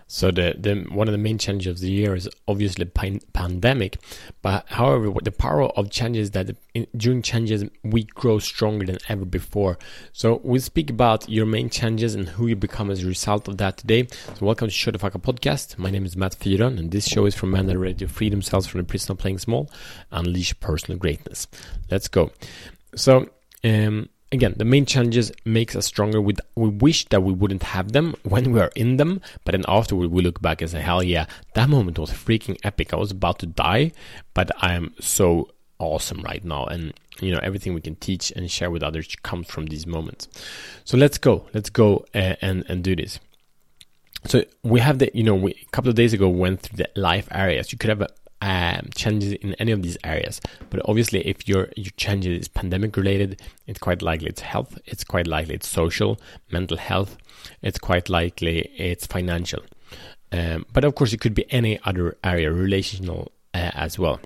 So the one of the main challenges of the year is obviously pandemic. But however, what the power of changes is that during changes we grow stronger than ever before. So we'll speak about your main challenges and who you become as a result of that today. So welcome to Shut the Fuck Up podcast. My name is Matt Fyron, and this show is for men that are ready to free themselves from the prison of playing small and unleash personal greatness. Let's go. So again, the main challenges makes us stronger. We wish that we wouldn't have them when we are in them, but then afterward we look back and say, hell yeah, that moment was freaking epic. I was about to die, but I am so awesome right now. And everything we can teach and share with others comes from these moments. So let's go and do this. So we have a couple of days ago went through the life areas. You could have challenges in any of these areas, but obviously if your challenge is pandemic related, it's quite likely it's health, it's quite likely it's social, mental health, it's quite likely it's financial, but of course it could be any other area, relational as well.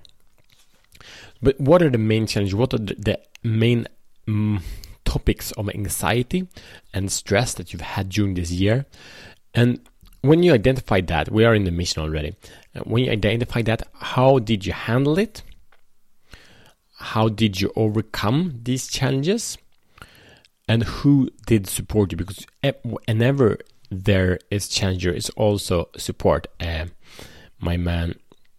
But what are the main challenges? What are the main topics of anxiety and stress that you've had during this year? And when you identify that, we are in the mission already. When you identify that, how did you handle it? How did you overcome these challenges? And who did support you? Because whenever there is challenge, there is also support. My man,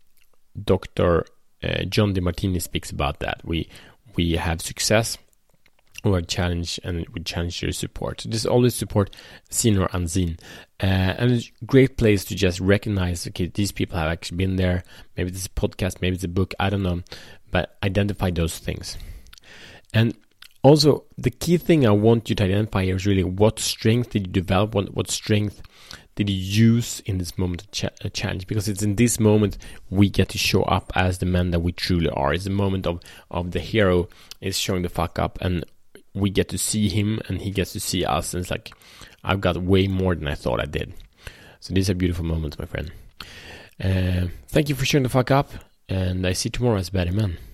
Dr. John DeMartini speaks about that. We have success or challenge, and we challenge your support. So there's always support, seen or unseen. And it's a great place to just recognize, okay, these people have actually been there. Maybe this is a podcast, maybe it's a book, I don't know. But identify those things. And also, the key thing I want you to identify here is really what strength did you develop, what strength did you use in this moment of challenge? Because it's in this moment we get to show up as the men that we truly are. It's the moment of the hero is showing the fuck up, and we get to see him and he gets to see us, and it's like, I've got way more than I thought I did. So these are beautiful moments, my friend. Thank you for showing the fuck up, and I see you tomorrow as a better man.